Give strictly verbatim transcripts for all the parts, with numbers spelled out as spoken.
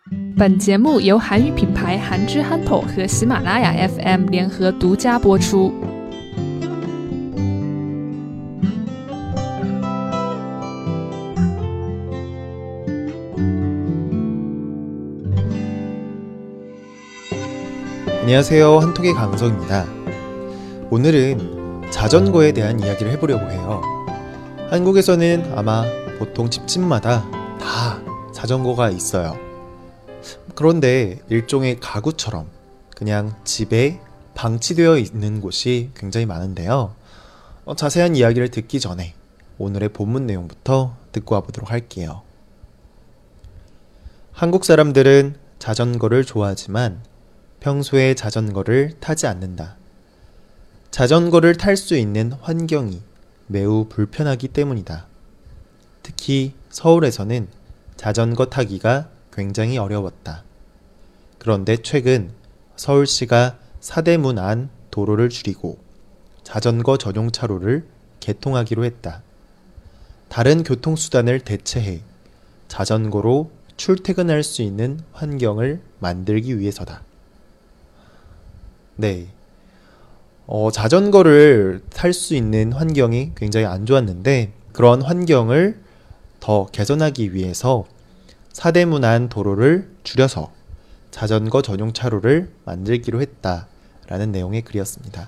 本节目由韩语品牌韩之憨头和喜马拉雅 F M 联合独家播出。 안녕하세요, 한톡의 강성입니다. 오늘은 자전거에 대한 이야기를 해보려고 해요. 한국에서는 아마 보통 집집마다 다 자전거가 있어요. 그런데 일종의 가구처럼 그냥 집에 방치되어 있는 곳이 굉장히 많은데요. 어, 자세한 이야기를 듣기 전에 오늘의 본문 내용부터 듣고 와보도록 할게요. 한국 사람들은 자전거를 좋아하지만 평소에 자전거를 타지 않는다. 자전거를 탈 수 있는 환경이 매우 불편하기 때문이다. 특히 서울에서는 자전거 타기가 굉장히 어려웠다. 그런데 최근 서울시가 사대문 안 도로를 줄이고 자전거 전용 차로를 개통하기로 했다. 다른 교통수단을 대체해 자전거로 출퇴근할 수 있는 환경을 만들기 위해서다. 네, 어, 자전거를 탈 수 있는 환경이 굉장히 안 좋았는데 그런 환경을 더 개선하기 위해서 사대문 안 도로를 줄여서 자전거 전용 차로를 만들기로 했다라는 내용의 글이었습니다.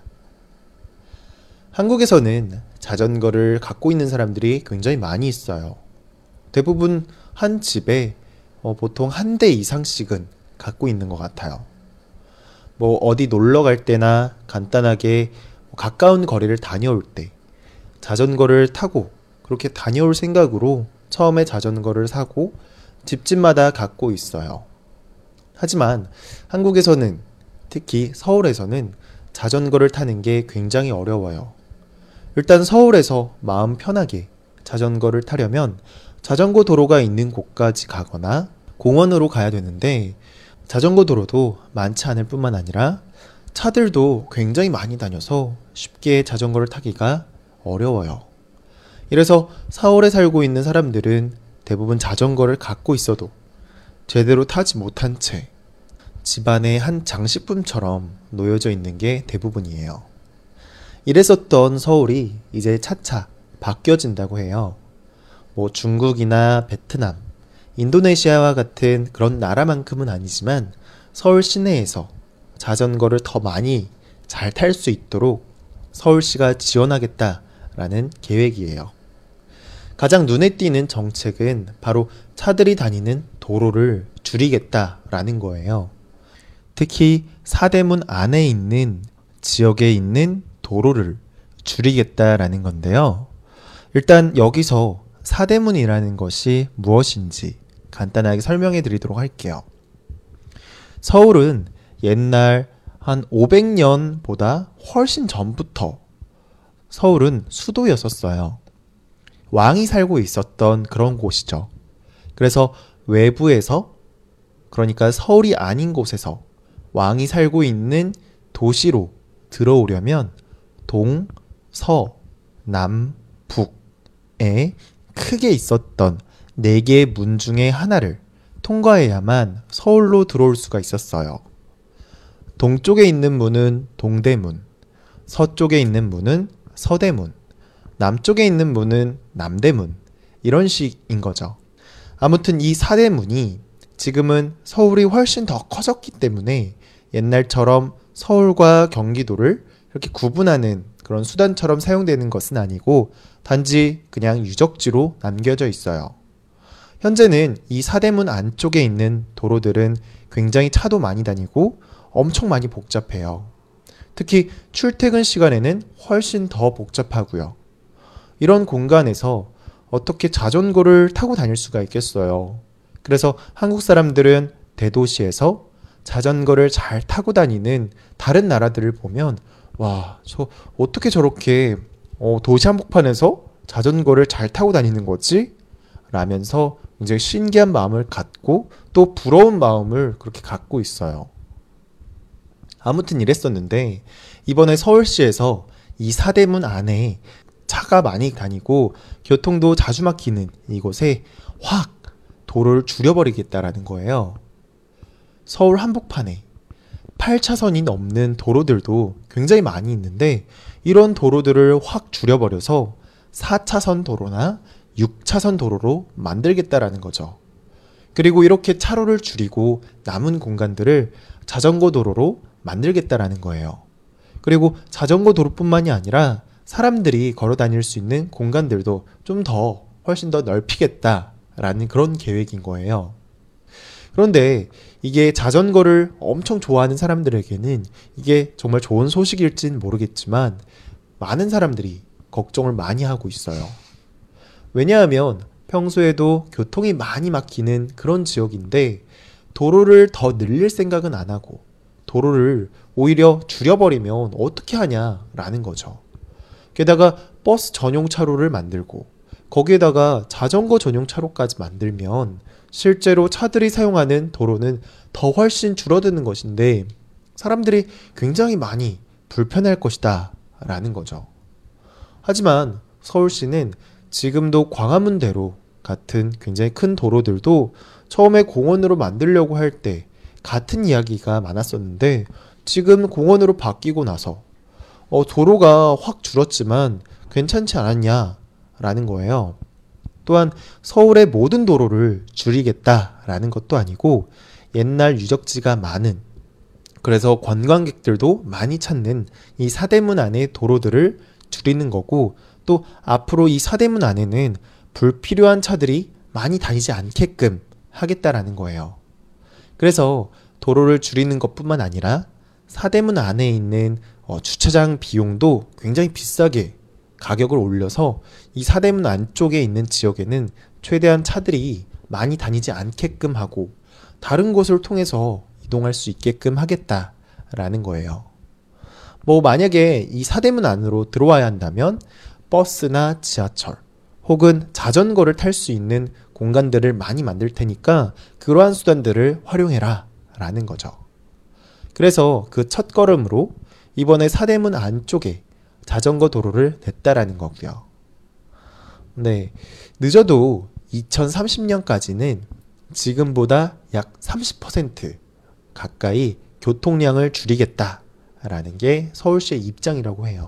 한국에서는 자전거를 갖고 있는 사람들이 굉장히 많이 있어요. 대부분 한 집에 어, 보통 한 대 이상씩은 갖고 있는 것 같아요. 뭐 어디 놀러 갈 때나 간단하게 가까운 거리를 다녀올 때 자전거를 타고 그렇게 다녀올 생각으로 처음에 자전거를 사고 집집마다 갖고 있어요. 하지만 한국에서는, 특히 서울에서는 자전거를 타는 게 굉장히 어려워요. 일단 서울에서 마음 편하게 자전거를 타려면 자전거 도로가 있는 곳까지 가거나 공원으로 가야 되는데 자전거 도로도 많지 않을 뿐만 아니라 차들도 굉장히 많이 다녀서 쉽게 자전거를 타기가 어려워요. 이래서 서울에 살고 있는 사람들은 대부분 자전거를 갖고 있어도 제대로 타지 못한 채 집안의 한 장식품처럼 놓여져 있는 게 대부분이에요. 이랬었던 서울이 이제 차차 바뀌어진다고 해요. 뭐 중국이나 베트남, 인도네시아와 같은 그런 나라만큼은 아니지만 서울 시내에서 자전거를 더 많이 잘 탈 수 있도록 서울시가 지원하겠다라는 계획이에요. 가장 눈에 띄는 정책은 바로 차들이 다니는 도로를 줄이겠다라는 거예요. 특히 사대문 안에 있는 지역에 있는 도로를 줄이겠다라는 건데요. 일단 여기서 사대문이라는 것이 무엇인지 간단하게 설명해 드리도록 할게요. 서울은 옛날 한 오백 년보다 훨씬 전부터 서울은 수도였었어요. 왕이 살고 있었던 그런 곳이죠. 그래서 외부에서, 그러니까 서울이 아닌 곳에서 왕이 살고 있는 도시로 들어오려면 동, 서, 남, 북에 크게 있었던 네 개의 문 중에 하나를 통과해야만 서울로 들어올 수가 있었어요. 동쪽에 있는 문은 동대문, 서쪽에 있는 문은 서대문, 남쪽에 있는 문은 남대문, 이런 식인 거죠. 아무튼 이 사대문이 지금은 서울이 훨씬 더 커졌기 때문에 옛날처럼 서울과 경기도를 이렇게 구분하는 그런 수단처럼 사용되는 것은 아니고 단지 그냥 유적지로 남겨져 있어요. 현재는 이 사대문 안쪽에 있는 도로들은 굉장히 차도 많이 다니고 엄청 많이 복잡해요. 특히 출퇴근 시간에는 훨씬 더 복잡하고요. 이런 공간에서 어떻게 자전거를 타고 다닐 수가 있겠어요. 그래서 한국 사람들은 대도시에서 자전거를 잘 타고 다니는 다른 나라들을 보면 와, 저 어떻게 저렇게 어, 도시 한복판에서 자전거를 잘 타고 다니는 거지? 라면서 굉장히 신기한 마음을 갖고 또 부러운 마음을 그렇게 갖고 있어요. 아무튼 이랬었는데 이번에 서울시에서 이 사대문 안에 차가 많이 다니고 교통도 자주 막히는 이곳에 확 도로를 줄여버리겠다라는 거예요. 서울 한복판에 팔 차선이 넘는 도로들도 굉장히 많이 있는데 이런 도로들을 확 줄여버려서 사 차선 도로나 육 차선 도로로 만들겠다라는 거죠. 그리고 이렇게 차로를 줄이고 남은 공간들을 자전거 도로로 만들겠다라는 거예요. 그리고 자전거 도로뿐만이 아니라 사람들이 걸어 다닐 수 있는 공간들도 좀 더 훨씬 더 넓히겠다라는 그런 계획인 거예요. 그런데 이게 자전거를 엄청 좋아하는 사람들에게는 이게 정말 좋은 소식일진 모르겠지만 많은 사람들이 걱정을 많이 하고 있어요. 왜냐하면 평소에도 교통이 많이 막히는 그런 지역인데 도로를 더 늘릴 생각은 안 하고 도로를 오히려 줄여버리면 어떻게 하냐라는 거죠. 게다가 버스 전용 차로를 만들고 거기에다가 자전거 전용 차로까지 만들면 실제로 차들이 사용하는 도로는 더 훨씬 줄어드는 것인데 사람들이 굉장히 많이 불편할 것이다 라는 거죠. 하지만 서울시는 지금도 광화문대로 같은 굉장히 큰 도로들도 처음에 공원으로 만들려고 할 때 같은 이야기가 많았었는데 지금 공원으로 바뀌고 나서 어, 도로가 확 줄었지만 괜찮지 않았냐라는 거예요. 또한 서울의 모든 도로를 줄이겠다라는 것도 아니고 옛날 유적지가 많은 그래서 관광객들도 많이 찾는 이 사대문 안의 도로들을 줄이는 거고 또 앞으로 이 사대문 안에는 불필요한 차들이 많이 다니지 않게끔 하겠다라는 거예요. 그래서 도로를 줄이는 것뿐만 아니라 사대문 안에 있는 어, 주차장 비용도 굉장히 비싸게 가격을 올려서 이 사대문 안쪽에 있는 지역에는 최대한 차들이 많이 다니지 않게끔 하고 다른 곳을 통해서 이동할 수 있게끔 하겠다라는 거예요. 뭐 만약에 이 사대문 안으로 들어와야 한다면 버스나 지하철 혹은 자전거를 탈 수 있는 공간들을 많이 만들 테니까 그러한 수단들을 활용해라 라는 거죠. 그래서 그 첫 걸음으로 이번에 사대문 안쪽에 자전거 도로를 냈다라는 거고요. 네, 늦어도 이천삼십 년까지는 지금보다 약 삼십 퍼센트 가까이 교통량을 줄이겠다라는 게 서울시의 입장이라고 해요.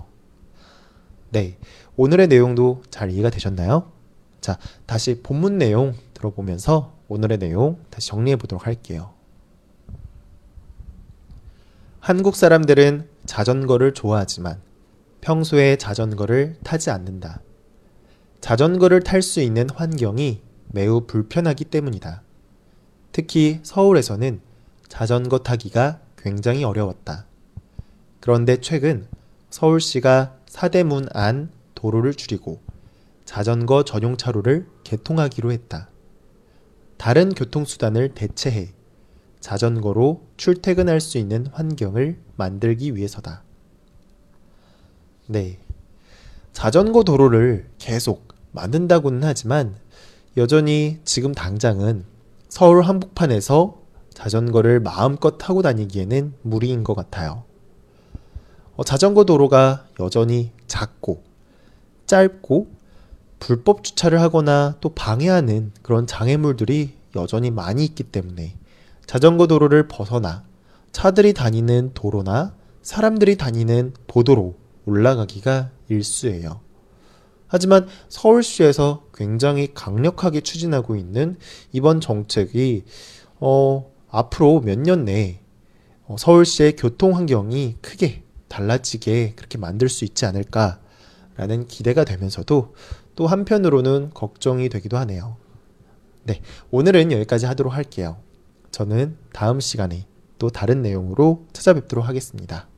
네, 오늘의 내용도 잘 이해가 되셨나요? 자, 다시 본문 내용 들어보면서 오늘의 내용 다시 정리해 보도록 할게요. 한국 사람들은 자전거를 좋아하지만 평소에 자전거를 타지 않는다. 자전거를 탈 수 있는 환경이 매우 불편하기 때문이다. 특히 서울에서는 자전거 타기가 굉장히 어려웠다. 그런데 최근 서울시가 사대문 안 도로를 줄이고 자전거 전용 차로를 개통하기로 했다. 다른 교통수단을 대체해 자전거로 출퇴근할 수 있는 환경을 만들기 위해서다. 네, 자전거 도로를 계속 만든다고는 하지만 여전히 지금 당장은 서울 한복판에서 자전거를 마음껏 타고 다니기에는 무리인 것 같아요. 어, 자전거 도로가 여전히 작고 짧고 불법 주차를 하거나 또 방해하는 그런 장애물들이 여전히 많이 있기 때문에 자전거 도로를 벗어나 차들이 다니는 도로나 사람들이 다니는 보도로 올라가기가 일쑤예요. 하지만 서울시에서 굉장히 강력하게 추진하고 있는 이번 정책이 어, 앞으로 몇 년 내에 어, 서울시의 교통 환경이 크게 달라지게 그렇게 만들 수 있지 않을까라는 기대가 되면서도 또 한편으로는 걱정이 되기도 하네요. 네, 오늘은 여기까지 하도록 할게요. 저는 다음 시간에 또 다른 내용으로 찾아뵙도록 하겠습니다.